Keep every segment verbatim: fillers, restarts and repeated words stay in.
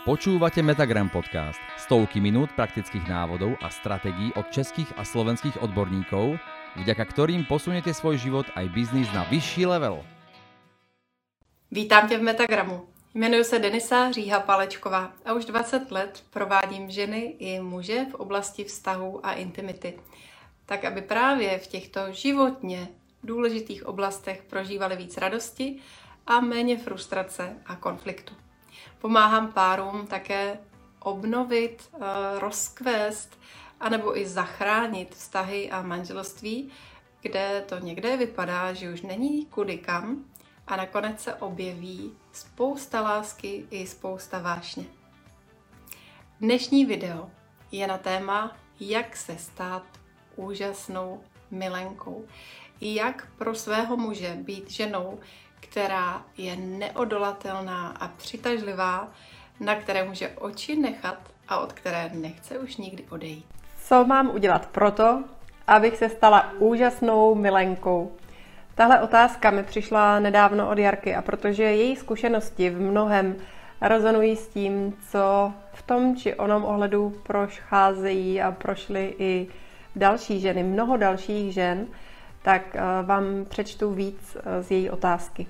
Počúvate Metagram podcast. Stovky minút praktických návodov a stratégií od českých a slovenských odborníkov, vďaka ktorým posuniete svoj život aj biznis na vyšší level. Vítám tě v Metagramu. Jmenuji se Denisa Říha-Palečková a už dvacet let provádím ženy i muže v oblasti vztahů a intimity. Tak, aby právě v těchto životně důležitých oblastech prožívali víc radosti a méně frustrace a konfliktu. Pomáhám párům také obnovit, rozkvést anebo i zachránit vztahy a manželství, kde to někde vypadá, že už není kudy kam a nakonec se objeví spousta lásky i spousta vášně. Dnešní video je na téma, jak se stát úžasnou milenkou. Jak pro svého muže být ženou, která je neodolatelná a přitažlivá, na které může oči nechat a od které nechce už nikdy odejít. Co mám udělat proto, abych se stala úžasnou milenkou? Tahle otázka mi přišla nedávno od Jarky a protože její zkušenosti v mnohem rezonují s tím, co v tom či onom ohledu procházejí a prošly i další ženy, mnoho dalších žen, tak vám přečtu víc z její otázky.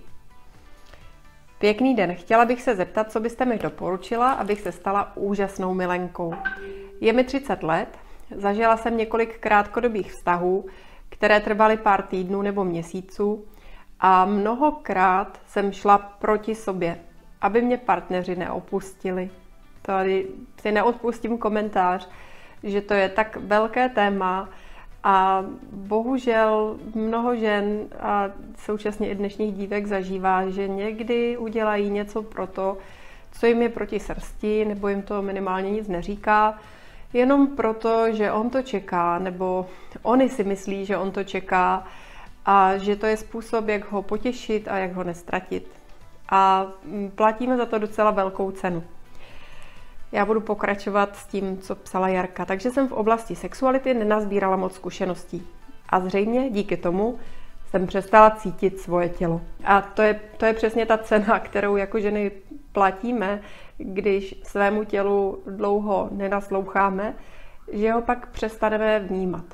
Pěkný den, chtěla bych se zeptat, co byste mi doporučila, abych se stala úžasnou milenkou. Je mi třicet let, zažila jsem několik krátkodobých vztahů, které trvaly pár týdnů nebo měsíců a mnohokrát jsem šla proti sobě, aby mě partneři neopustili. Tady si neodpustím komentář, že to je tak velké téma a bohužel mnoho žen a současně i dnešních dívek zažívá, že někdy udělají něco pro to, co jim je proti srsti, nebo jim to minimálně nic neříká, jenom proto, že on to čeká, nebo oni si myslí, že on to čeká a že to je způsob, jak ho potěšit a jak ho nestratit. A platíme za to docela velkou cenu. Já budu pokračovat s tím, co psala Jarka. Takže jsem v oblasti sexuality nenazbírala moc zkušeností. A zřejmě díky tomu jsem přestala cítit svoje tělo. A to je, to je přesně ta cena, kterou jako ženy platíme, když svému tělu dlouho nenasloucháme, že ho pak přestaneme vnímat.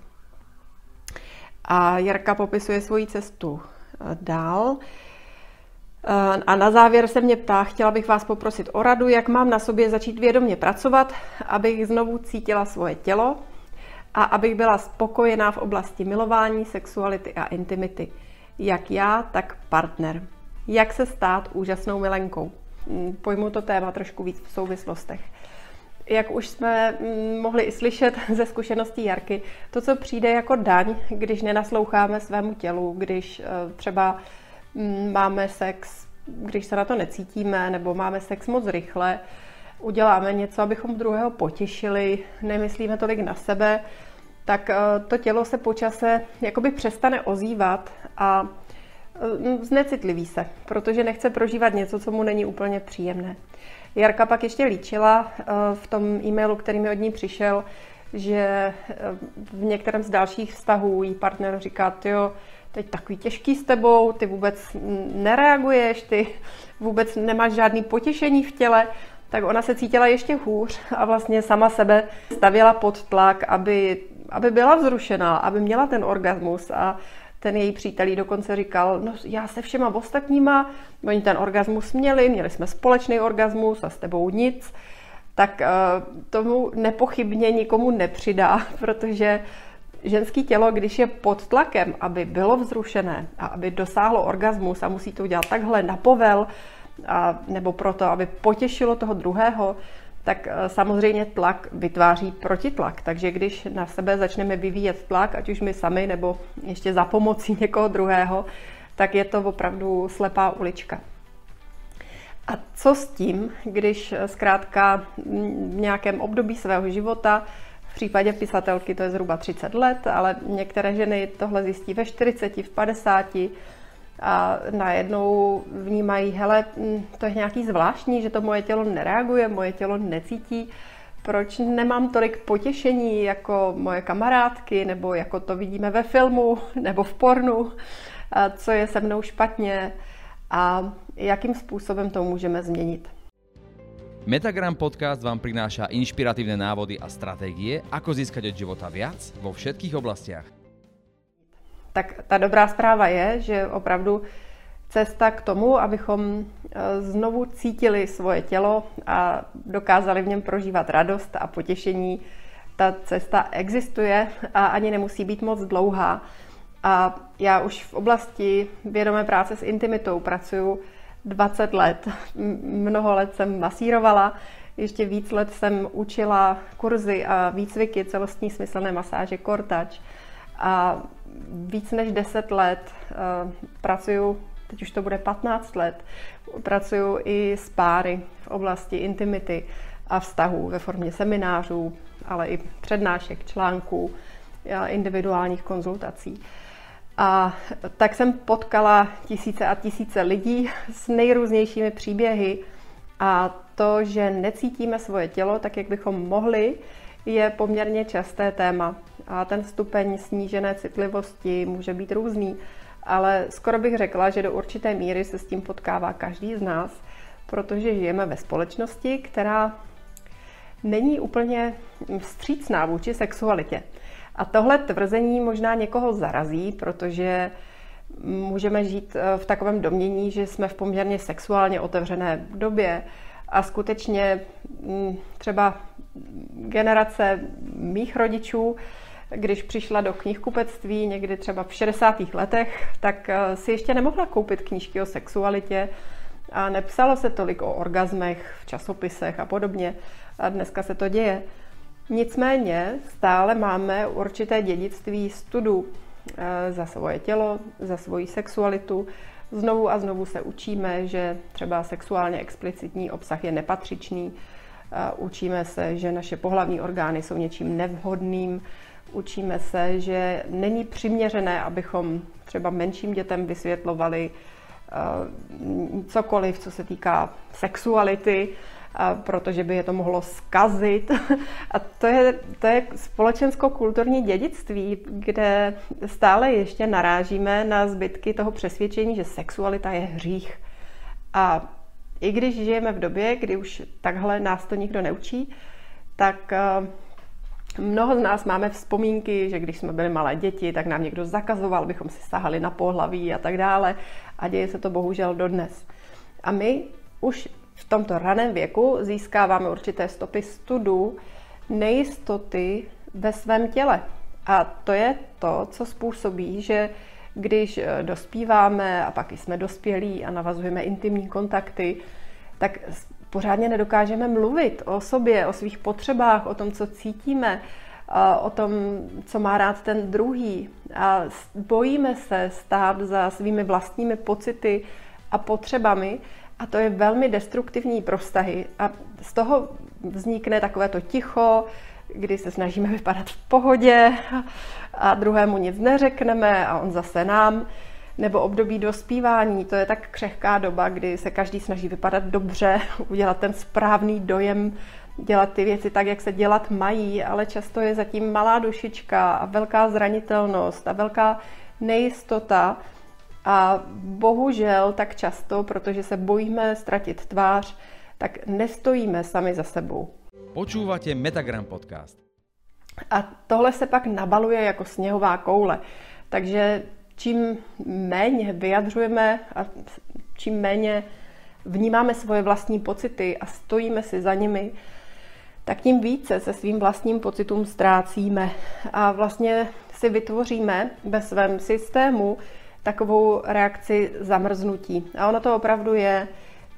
A Jarka popisuje svoji cestu dál. A na závěr se mě ptá, chtěla bych vás poprosit o radu, jak mám na sobě začít vědomě pracovat, abych znovu cítila svoje tělo a abych byla spokojená v oblasti milování, sexuality a intimity. Jak já, tak partner. Jak se stát úžasnou milenkou? Pojmu to téma trošku víc v souvislostech. Jak už jsme mohli i slyšet ze zkušeností Jarky, to, co přijde jako daň, když nenasloucháme svému tělu, když třeba máme sex, když se na to necítíme, nebo máme sex moc rychle, uděláme něco, abychom druhého potěšili, nemyslíme tolik na sebe, tak to tělo se po čase jakoby přestane ozývat a znecitliví se, protože nechce prožívat něco, co mu není úplně příjemné. Jarka pak ještě líčila v tom e-mailu, který mi od ní přišel, že v některém z dalších vztahů jí partner říká, tyjo, teď takový těžký s tebou, ty vůbec nereaguješ, ty vůbec nemáš žádný potěšení v těle, tak ona se cítila ještě hůř a vlastně sama sebe stavěla pod tlak, aby, aby byla vzrušená, aby měla ten orgasmus a ten její přítel jí dokonce říkal, no já se všema ostatníma, oni ten orgasmus měli, měli jsme společný orgasmus a s tebou nic, tak tomu nepochybně nikomu nepřidá, protože ženské tělo, když je pod tlakem, aby bylo vzrušené a aby dosáhlo orgasmus a musí to udělat takhle na povel, a, nebo proto, aby potěšilo toho druhého, tak samozřejmě tlak vytváří protitlak. Takže když na sebe začneme vyvíjet tlak, ať už my sami, nebo ještě za pomocí někoho druhého, tak je to opravdu slepá ulička. A co s tím, když zkrátka v nějakém období svého života, v případě pisatelky to je zhruba třicet let, ale některé ženy tohle zjistí ve čtyřiceti, v padesáti a najednou vnímají, hele, to je nějaký zvláštní, že to moje tělo nereaguje, moje tělo necítí, proč nemám tolik potěšení jako moje kamarádky, nebo jako to vidíme ve filmu, nebo v pornu, co je se mnou špatně a jakým způsobem to můžeme změnit. Metagram podcast vám prináša inšpiratívne návody a stratégie, ako získať od života viac vo všetkých oblastiach. Tak ta dobrá zpráva je, že opravdu cesta k tomu, abychom znovu cítili svoje tělo a dokázali v něm prožívat radost a potěšení, ta cesta existuje a ani nemusí být moc dlouhá. A já už v oblasti vědomé práce s intimitou pracuji dvacet let. Mnoho let jsem masírovala, ještě víc let jsem učila kurzy a výcviky celostní smyslné masáže Core Touch. A víc než deset let uh, pracuju, teď už to bude patnáct let, pracuju i s páry v oblasti intimity a vztahů ve formě seminářů, ale i přednášek, článků, individuálních konzultací. A tak jsem potkala tisíce a tisíce lidí s nejrůznějšími příběhy a to, že necítíme svoje tělo tak, jak bychom mohli, je poměrně časté téma. A ten stupeň snížené citlivosti může být různý, ale skoro bych řekla, že do určité míry se s tím potkává každý z nás, protože žijeme ve společnosti, která není úplně vstřícná vůči sexualitě. A tohle tvrzení možná někoho zarazí, protože můžeme žít v takovém domnění, že jsme v poměrně sexuálně otevřené době a skutečně třeba generace mých rodičů, když přišla do knihkupectví někdy třeba v šedesátých letech, tak si ještě nemohla koupit knížky o sexualitě a nepsalo se tolik o orgazmech v časopisech a podobně. A dneska se to děje. Nicméně stále máme určité dědictví studu za svoje tělo, za svoji sexualitu. Znovu a znovu se učíme, že třeba sexuálně explicitní obsah je nepatřičný. Učíme se, že naše pohlavní orgány jsou něčím nevhodným. Učíme se, že není přiměřené, abychom třeba menším dětem vysvětlovali cokoliv, co se týká sexuality, protože by je to mohlo zkazit. A to je, to je společensko-kulturní dědictví, kde stále ještě narážíme na zbytky toho přesvědčení, že sexualita je hřích. A i když žijeme v době, kdy už takhle nás to nikdo neučí, tak mnoho z nás máme vzpomínky, že když jsme byli malé děti, tak nám někdo zakazoval, abychom si sahali na pohlaví a tak dále. A děje se to bohužel dodnes. A my už v tomto raném věku získáváme určité stopy studu nejistoty ve svém těle. A to je to, co způsobí, že když dospíváme a pak jsme dospělí a navazujeme intimní kontakty, tak pořádně nedokážeme mluvit o sobě, o svých potřebách, o tom, co cítíme, o tom, co má rád ten druhý. A bojíme se stát za svými vlastními pocity a potřebami a to je velmi destruktivní pro vztahy. A z toho vznikne takové to ticho, kdy se snažíme vypadat v pohodě a druhému nic neřekneme a on zase nám. Nebo období dospívání, to je tak křehká doba, kdy se každý snaží vypadat dobře, udělat ten správný dojem, dělat ty věci tak, jak se dělat mají, ale často je zatím malá dušička a velká zranitelnost a velká nejistota. A bohužel tak často, protože se bojíme ztratit tvář, tak nestojíme sami za sebou. Počúvate Metagram podcast. A tohle se pak nabaluje jako sněhová koule. Takže čím méně vyjadřujeme a čím méně vnímáme svoje vlastní pocity a stojíme si za nimi, tak tím více se svým vlastním pocitům ztrácíme a vlastně si vytvoříme ve svém systému takovou reakci zamrznutí. A ono to opravdu je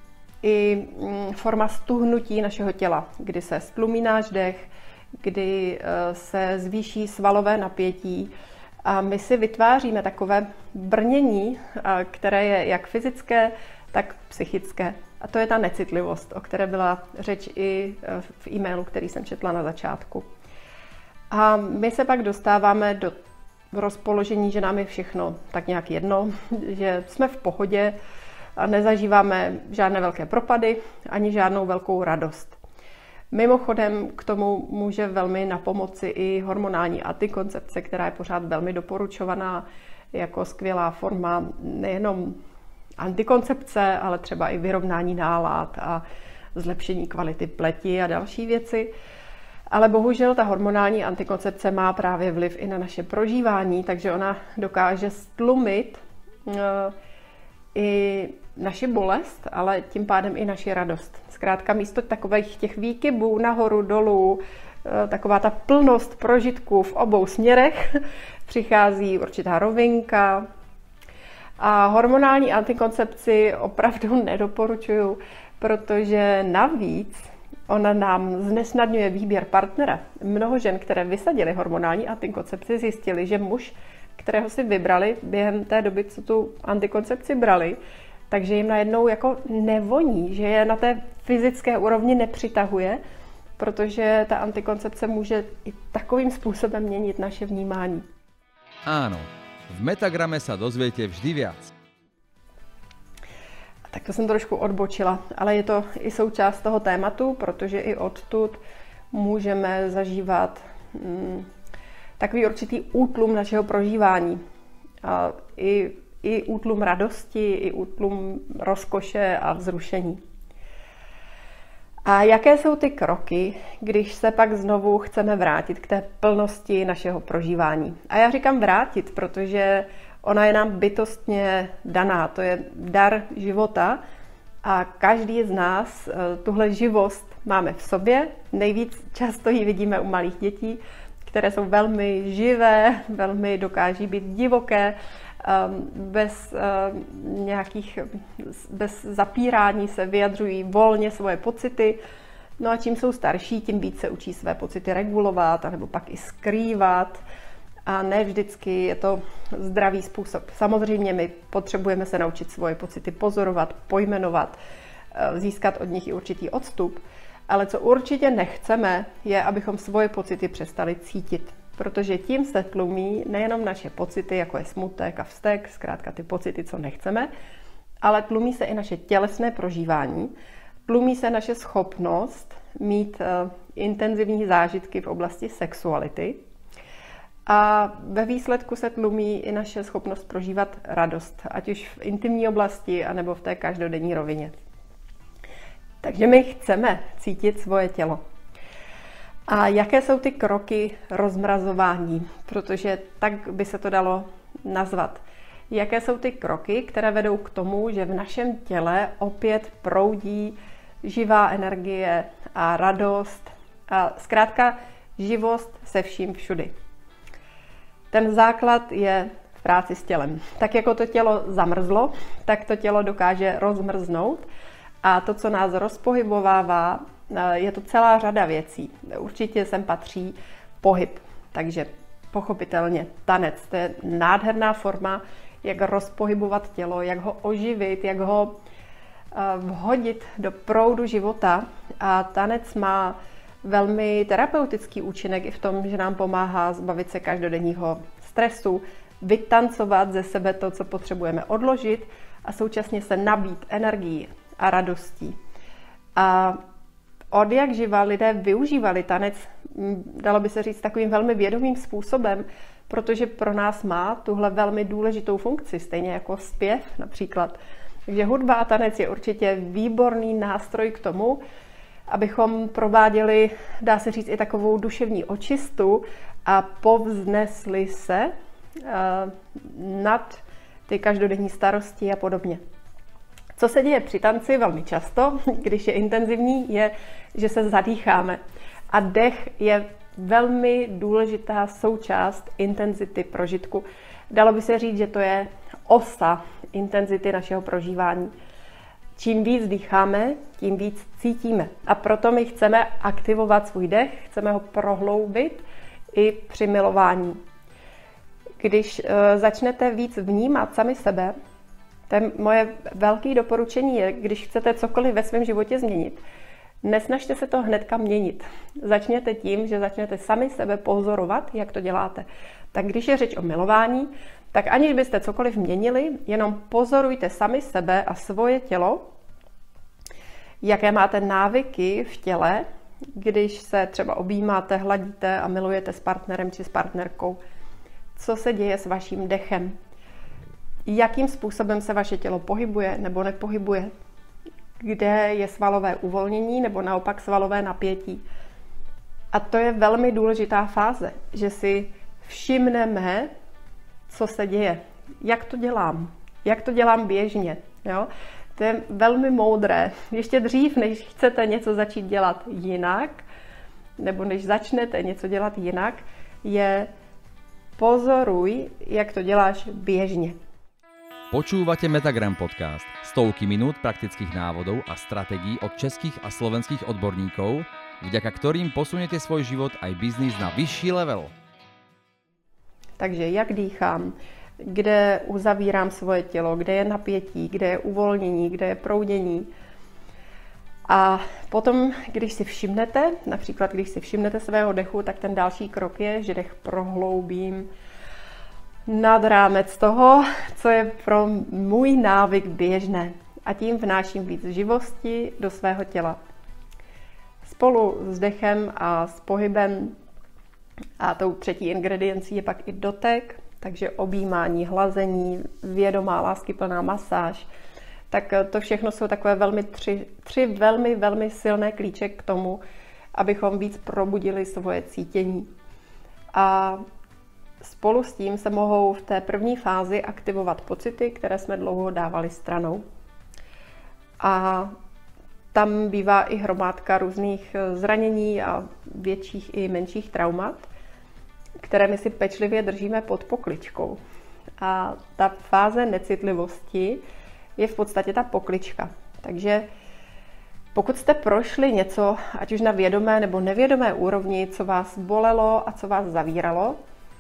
i forma stuhnutí našeho těla, kdy se stlumí náš dech, kdy se zvýší svalové napětí a my si vytváříme takové brnění, které je jak fyzické, tak psychické. A to je ta necitlivost, o které byla řeč i v e-mailu, který jsem četla na začátku. A my se pak dostáváme do rozpoložení, že nám je všechno tak nějak jedno, že jsme v pohodě a nezažíváme žádné velké propady ani žádnou velkou radost. Mimochodem k tomu může velmi napomoci i hormonální antikoncepce, která je pořád velmi doporučovaná jako skvělá forma nejenom antikoncepce, ale třeba i vyrovnání nálad a zlepšení kvality pleti a další věci. Ale bohužel ta hormonální antikoncepce má právě vliv i na naše prožívání, takže ona dokáže stlumit uh, i naši bolest, ale tím pádem i naši radost. Zkrátka místo takových těch výkybů nahoru, dolů, taková ta plnost prožitků v obou směrech, přichází určitá rovinka. A hormonální antikoncepci opravdu nedoporučuju, protože navíc ona nám znesnadňuje výběr partnera. Mnoho žen, které vysadily hormonální antikoncepci, zjistili, že muž, kterého si vybrali během té doby, co tu antikoncepci brali, takže jim najednou jako nevoní, že je na té fyzické úrovni nepřitahuje, protože ta antikoncepce může i takovým způsobem měnit naše vnímání. Áno, v Metagrame sa dozviete vždy viac. Tak to jsem trošku odbočila, ale je to i součást toho tématu, protože i odtud můžeme zažívat hm, takový určitý útlum našeho prožívání. A i, i útlum radosti, i útlum rozkoše a vzrušení. A jaké jsou ty kroky, když se pak znovu chceme vrátit k té plnosti našeho prožívání? A já říkám vrátit, protože ona je nám bytostně daná, to je dar života a každý z nás tuhle živost máme v sobě. Nejvíc často ji vidíme u malých dětí, které jsou velmi živé, velmi dokáží být divoké, bez nějakých, bez zapírání se vyjadřují volně svoje pocity. No a čím jsou starší, tím více učí své pocity regulovat, anebo pak i skrývat. A ne vždycky je to zdravý způsob. Samozřejmě my potřebujeme se naučit svoje pocity pozorovat, pojmenovat, získat od nich i určitý odstup. Ale co určitě nechceme, je, abychom svoje pocity přestali cítit. Protože tím se tlumí nejenom naše pocity, jako je smutek a vztek, zkrátka ty pocity, co nechceme, ale tlumí se i naše tělesné prožívání, tlumí se naše schopnost mít uh, intenzivní zážitky v oblasti sexuality a ve výsledku se tlumí i naše schopnost prožívat radost, ať už v intimní oblasti, anebo v té každodenní rovině. Takže my chceme cítit svoje tělo. A jaké jsou ty kroky rozmrazování? Protože tak by se to dalo nazvat. Jaké jsou ty kroky, které vedou k tomu, že v našem těle opět proudí živá energie a radost a zkrátka živost se vším všudy. Ten základ je v práci s tělem. Tak jako to tělo zamrzlo, tak to tělo dokáže rozmrznout a to, co nás rozpohybovává, je to celá řada věcí. Určitě sem patří pohyb, takže pochopitelně tanec. To je nádherná forma, jak rozpohybovat tělo, jak ho oživit, jak ho vhodit do proudu života. A tanec má velmi terapeutický účinek i v tom, že nám pomáhá zbavit se každodenního stresu, vytancovat ze sebe to, co potřebujeme odložit a současně se nabít energií a radostí. A od jak živa lidé využívali tanec, dalo by se říct, takovým velmi vědomým způsobem, protože pro nás má tuhle velmi důležitou funkci, stejně jako zpěv například. Takže hudba a tanec je určitě výborný nástroj k tomu, abychom prováděli, dá se říct, i takovou duševní očistu a povznesli se uh, nad ty každodenní starosti a podobně. Co se děje při tanci velmi často, když je intenzivní, je, že se zadýcháme. A dech je velmi důležitá součást intenzity prožitku. Dalo by se říct, že to je osa intenzity našeho prožívání. Čím víc dýcháme, tím víc cítíme. A proto my chceme aktivovat svůj dech, chceme ho prohloubit i při milování. Když e, začnete víc vnímat sami sebe, to moje velké doporučení je, když chcete cokoliv ve svém životě změnit, nesnažte se to hnedka měnit. Začněte tím, že začnete sami sebe pozorovat, jak to děláte. Tak když je řeč o milování, tak aniž byste cokoliv měnili, jenom pozorujte sami sebe a svoje tělo, jaké máte návyky v těle, když se třeba objímáte, hladíte a milujete s partnerem či s partnerkou. Co se děje s vaším dechem? Jakým způsobem se vaše tělo pohybuje nebo nepohybuje? kde je svalové uvolnění nebo naopak svalové napětí. A to je velmi důležitá fáze, že si všimneme, co se děje, jak to dělám, jak to dělám běžně. Jo? To je velmi moudré. Ještě dřív, než chcete něco začít dělat jinak, nebo než začnete něco dělat jinak, je pozoruj, jak to děláš běžně. Počúvate Metagram podcast. Stovky minút praktických návodov a stratégií od českých a slovenských odborníkov, vďaka ktorým posuniete svoj život aj biznis na vyšší level. Takže jak dýchám, kde uzavírám svoje tělo, kde je napětí, kde je uvolnění, kde je proudění. A potom, když si všimnete, například když si všimnete svého dechu, tak ten další krok je, že dech prohloubím nad rámec toho, co je pro můj návyk běžné. A tím vnáším víc živosti do svého těla. Spolu s dechem a s pohybem a tou třetí ingrediencí je pak i dotek, takže objímání, hlazení, vědomá, láskyplná masáž. Tak to všechno jsou takové velmi tři, tři velmi, velmi silné klíče k tomu, abychom víc probudili svoje cítění. A spolu s tím se mohou v té první fázi aktivovat pocity, které jsme dlouho dávali stranou. A tam bývá i hromádka různých zranění a větších i menších traumat, které my si pečlivě držíme pod pokličkou. A ta fáze necitlivosti je v podstatě ta poklička. Takže pokud jste prošli něco, ať už na vědomé nebo nevědomé úrovni, co vás bolelo a co vás zavíralo,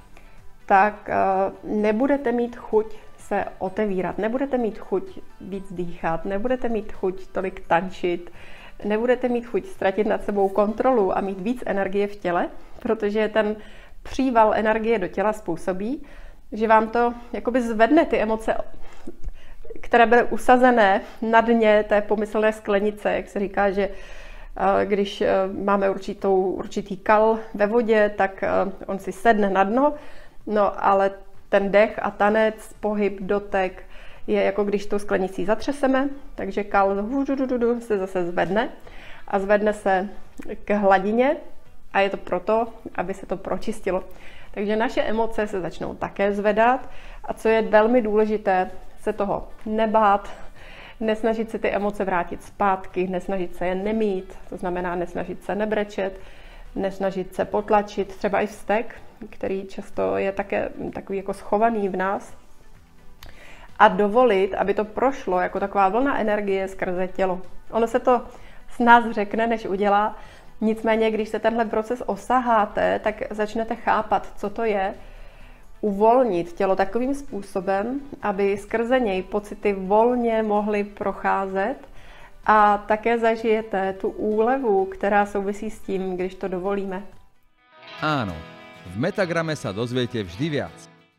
tak nebudete mít chuť se otevírat, nebudete mít chuť víc dýchat, nebudete mít chuť tolik tančit, nebudete mít chuť ztratit nad sebou kontrolu a mít víc energie v těle, protože ten příval energie do těla způsobí, že vám to jakoby zvedne ty emoce, které byly usazené na dně té pomyslné sklenice, jak se říká, že když máme určitou, určitý kal ve vodě, tak on si sedne na dno, no ale ten dech a tanec, pohyb, dotek je jako když tou sklenicí zatřeseme, takže kal se zase zvedne a zvedne se k hladině a je to proto, aby se to pročistilo. Takže naše emoce se začnou také zvedat a co je velmi důležité, se toho nebát, nesnažit se ty emoce vrátit zpátky, nesnažit se je nemít, to znamená nesnažit se nebrečet, nesnažit se potlačit, třeba i vztek, který často je také takový jako schovaný v nás, a dovolit, aby to prošlo jako taková vlna energie skrze tělo. Ono se to s nás řekne, než udělá, nicméně, když se tenhle proces osaháte, tak začnete chápat, co to je, uvolnit tělo takovým způsobem, aby skrze něj pocity volně mohly procházet a také zažijete tu úlevu, která souvisí s tím, když to dovolíme. Áno, v Metagrame sa dozviete vždy viac.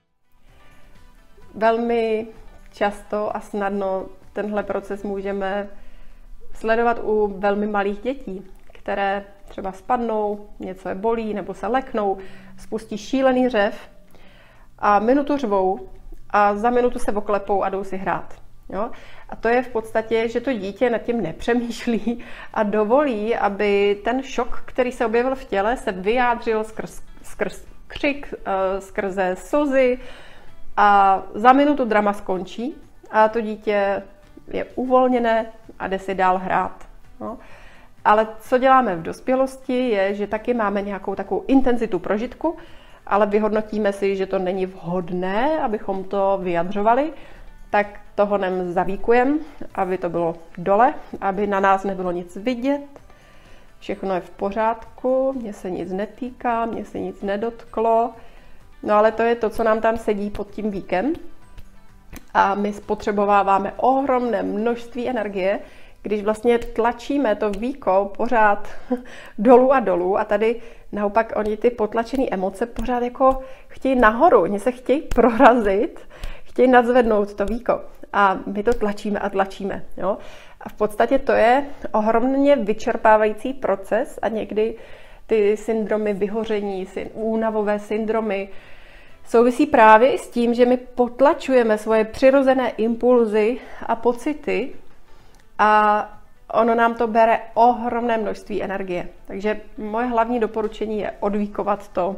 Velmi často a snadno tenhle proces můžeme sledovat u velmi malých dětí, které třeba spadnou, něco je bolí nebo se leknou, spustí šílený řev a minutu řvou a za minutu se oklepou a jdou si hrát. Jo? A to je v podstatě, že to dítě nad tím nepřemýšlí a dovolí, aby ten šok, který se objevil v těle, se vyjádřil skrz, skrz křik, skrze slzy a za minutu drama skončí a to dítě je uvolněné a jde si dál hrát. Jo? Ale co děláme v dospělosti je, že taky máme nějakou takovou intenzitu prožitku, ale vyhodnotíme si, že to není vhodné, abychom to vyjadřovali, tak to honem zavíkujeme, aby to bylo dole, aby na nás nebylo nic vidět. Všechno je v pořádku, mně se nic netýká, mně se nic nedotklo. No ale to je to, co nám tam sedí pod tím víkem. A my spotřebováváme ohromné množství energie, když vlastně tlačíme to víko pořád dolů a dolů a tady naopak oni ty potlačené emoce pořád jako chtějí nahoru, oni se chtějí prorazit, chtějí nadzvednout to víko a my to tlačíme a tlačíme. Jo? A v podstatě to je ohromně vyčerpávající proces a někdy ty syndromy vyhoření, únavové syndromy souvisí právě i s tím, že my potlačujeme svoje přirozené impulzy a pocity a ono nám to bere ohromné množství energie. Takže moje hlavní doporučení je odvíkovat to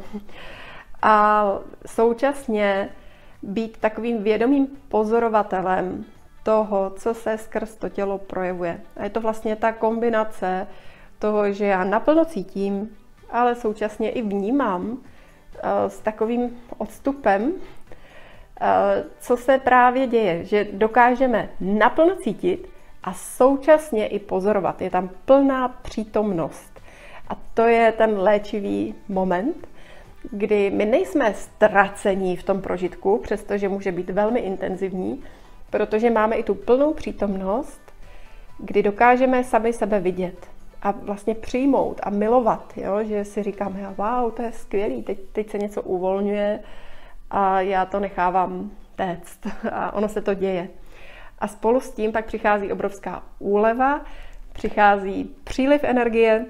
a současně být takovým vědomým pozorovatelem toho, co se skrz to tělo projevuje. A je to vlastně ta kombinace toho, že já naplno cítím, ale současně i vnímám s takovým odstupem, co se právě děje, že dokážeme naplno cítit a současně i pozorovat. Je tam plná přítomnost. A to je ten léčivý moment, kdy my nejsme ztracení v tom prožitku, přestože může být velmi intenzivní, protože máme i tu plnou přítomnost, kdy dokážeme sami sebe vidět a vlastně přijmout a milovat, jo? Že si říkáme, wow, to je skvělý, teď, teď se něco uvolňuje a já to nechávám téct a ono se to děje. A spolu s tím pak přichází obrovská úleva, přichází příliv energie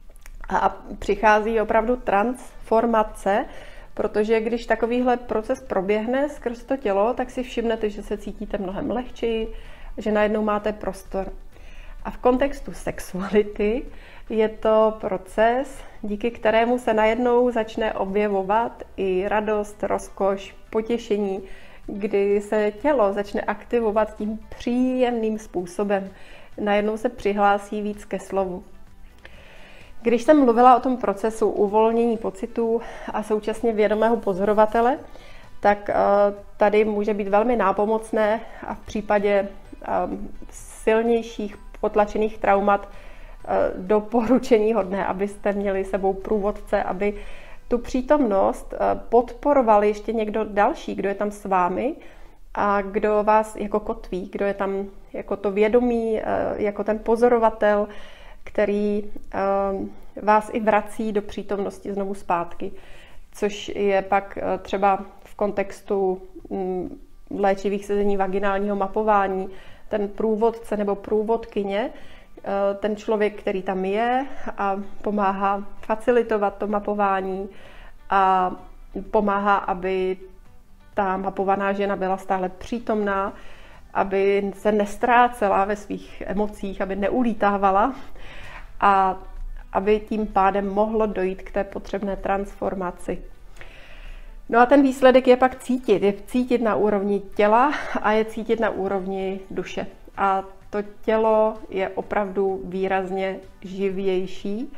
a přichází opravdu transformace, protože když takovýhle proces proběhne skrz to tělo, tak si všimnete, že se cítíte mnohem lehčeji, že najednou máte prostor. A v kontextu sexuality je to proces, díky kterému se najednou začne objevovat i radost, rozkoš, potěšení, kdy se tělo začne aktivovat tím příjemným způsobem. Najednou se přihlásí víc ke slovu. Když jsem mluvila o tom procesu uvolnění pocitů a současně vědomého pozorovatele, tak tady může být velmi nápomocné a v případě silnějších potlačených traumat doporučení hodné, abyste měli sebou průvodce, aby tu přítomnost podporoval ještě někdo další, kdo je tam s vámi a kdo vás jako kotví, kdo je tam jako to vědomí, jako ten pozorovatel, který vás i vrací do přítomnosti znovu zpátky, což je pak třeba v kontextu léčivých sezení vaginálního mapování, ten průvodce nebo průvodkyně, ten člověk, který tam je a pomáhá facilitovat to mapování a pomáhá, aby ta mapovaná žena byla stále přítomná, aby se nestrácela ve svých emocích, aby neulítávala a aby tím pádem mohlo dojít k té potřebné transformaci. No a ten výsledek je pak cítit. Je cítit na úrovni těla a je cítit na úrovni duše. A to tělo je opravdu výrazně živější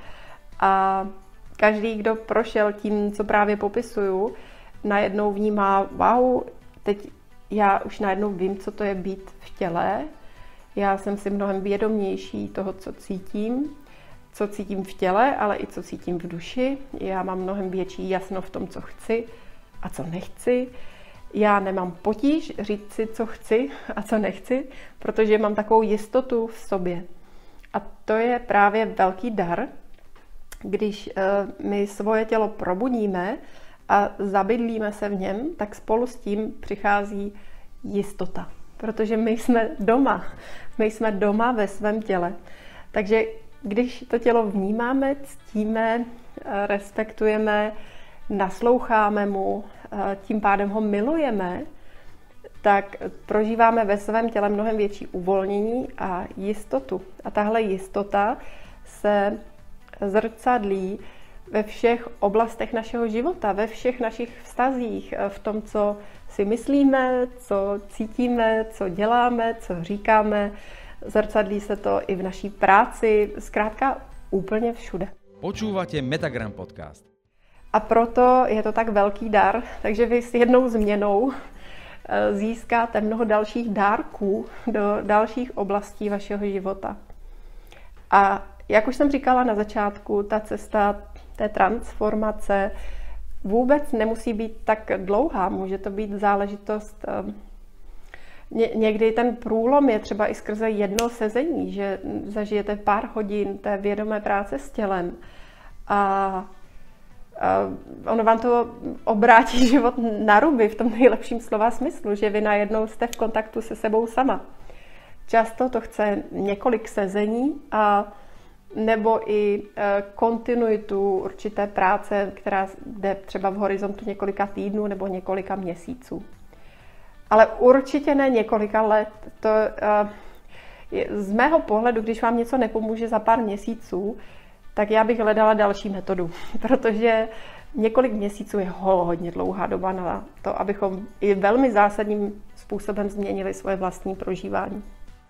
a každý, kdo prošel tím, co právě popisuju, najednou vnímá, wow, teď já už najednou vím, co to je být v těle. Já jsem si mnohem vědomější toho, co cítím, co cítím v těle, ale i co cítím v duši. Já mám mnohem větší jasno v tom, co chci a co nechci. Já nemám potíž říct si, co chci a co nechci, protože mám takovou jistotu v sobě. A to je právě velký dar, když my svoje tělo probudíme a zabydlíme se v něm, tak spolu s tím přichází jistota. Protože my jsme doma. My jsme doma ve svém těle. Takže když to tělo vnímáme, ctíme, respektujeme, nasloucháme mu, tím pádem ho milujeme, tak prožíváme ve svém těle mnohem větší uvolnění a jistotu. A tahle jistota se zrcadlí ve všech oblastech našeho života, ve všech našich vztazích, v tom, co si myslíme, co cítíme, co děláme, co říkáme. Zrcadlí se to i v naší práci, zkrátka úplně všude. Počúvate Metagram podcast. A proto je to tak velký dar, takže vy s jednou změnou získáte mnoho dalších dárků do dalších oblastí vašeho života. A jak už jsem říkala na začátku, ta cesta té transformace vůbec nemusí být tak dlouhá. Může to být záležitost, ně, někdy ten průlom je třeba i skrze jedno sezení, že zažijete pár hodin té vědomé práce s tělem a ono vám to obrátí život na ruby v tom nejlepším slova smyslu, že vy najednou jste v kontaktu se sebou sama. Často to chce několik sezení a nebo i kontinuitu určité práce, která jde třeba v horizontu několika týdnů nebo několika měsíců. Ale určitě ne několika let. To Z mého pohledu, když vám něco nepomůže za pár měsíců, tak já bych hledala další metodu, protože několik měsíců je hodně dlouhá doba na to, abychom i velmi zásadním způsobem změnili svoje vlastní prožívání.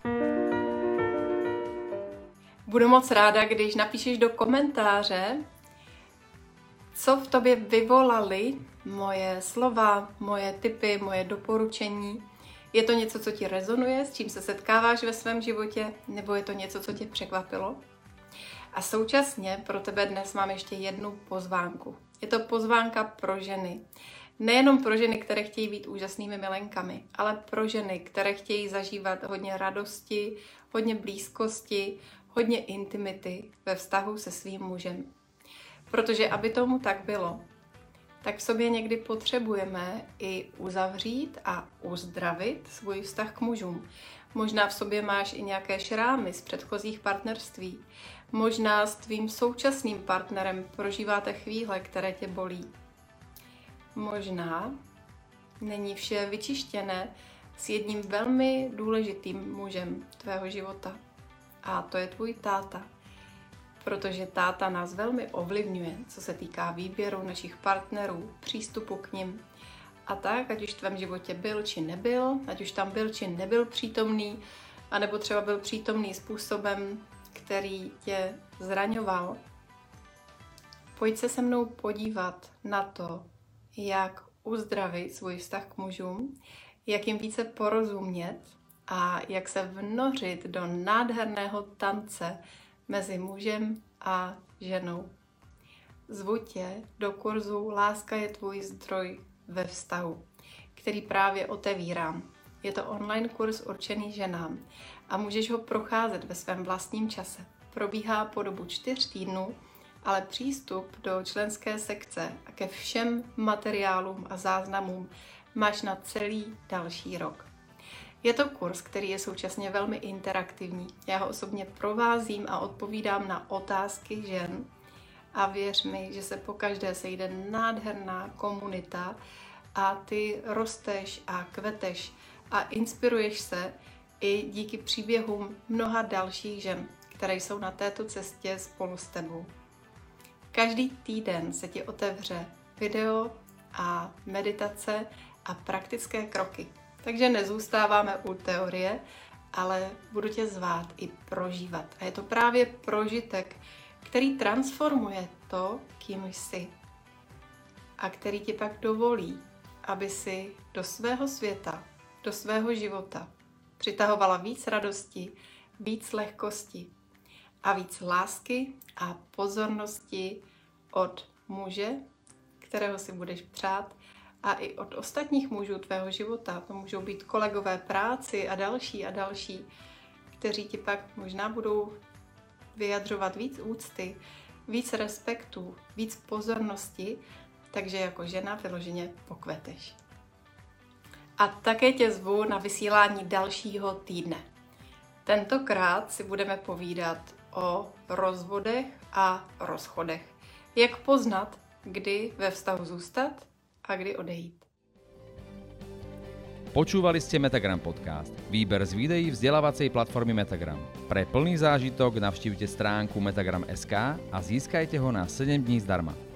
Budu moc ráda, když napíšeš do komentáře, co v tobě vyvolaly moje slova, moje tipy, moje doporučení. Je to něco, co ti rezonuje, s čím se setkáváš ve svém životě, nebo je to něco, co tě překvapilo? A současně pro tebe dnes mám ještě jednu pozvánku. Je to pozvánka pro ženy. Nejenom pro ženy, které chtějí být úžasnými milenkami, ale pro ženy, které chtějí zažívat hodně radosti, hodně blízkosti, hodně intimity ve vztahu se svým mužem. Protože aby tomu tak bylo, tak v sobě někdy potřebujeme i uzavřít a uzdravit svůj vztah k mužům. Možná v sobě máš i nějaké šrámy z předchozích partnerství. Možná s tvým současným partnerem prožíváte chvíle, které tě bolí. Možná není vše vyčištěné s jedním velmi důležitým mužem tvého života. A to je tvůj táta. Protože táta nás velmi ovlivňuje, co se týká výběru našich partnerů, přístupu k nim. A tak, ať už v tvém životě byl či nebyl, ať už tam byl či nebyl přítomný, anebo třeba byl přítomný způsobem, který tě zraňoval. Pojď se se mnou podívat na to, jak uzdravit svůj vztah k mužům, jak jim více porozumět a jak se vnořit do nádherného tance mezi mužem a ženou. Zvu tě do kurzu Láska je tvůj zdroj ve vztahu, který právě otevírám. Je to online kurz určený ženám a můžeš ho procházet ve svém vlastním čase. Probíhá po dobu čtyř týdnů, ale přístup do členské sekce a ke všem materiálům a záznamům máš na celý další rok. Je to kurz, který je současně velmi interaktivní. Já ho osobně provázím a odpovídám na otázky žen a věř mi, že se pokaždé sejde nádherná komunita a ty rosteš a kveteš a inspiruješ se i díky příběhům mnoha dalších žen, které jsou na této cestě spolu s tebou. Každý týden se ti otevře video a meditace a praktické kroky. Takže nezůstáváme u teorie, ale budu tě zvát i prožívat. A je to právě prožitek, který transformuje to, kým jsi. A který ti pak dovolí, aby si do svého světa, do svého života přitahovala víc radosti, víc lehkosti a víc lásky a pozornosti od muže, kterého si budeš přát, a i od ostatních mužů tvého života. To můžou být kolegové práci a další a další, kteří ti pak možná budou vyjadřovat víc úcty, víc respektu, víc pozornosti, takže jako žena vyloženě pokveteš. A také tě zvu na vysílání dalšího týdne. Tentokrát si budeme povídat o rozvodech a rozchodech. Jak poznat, kdy ve vztahu zůstat a kdy odejít. Počúvali ste Metagram podcast, výber z videí vzdelávacej platformy Metagram. Pre plný zážitok navštívte stránku metagram bodka es ká a získajte ho na sedem dní zdarma.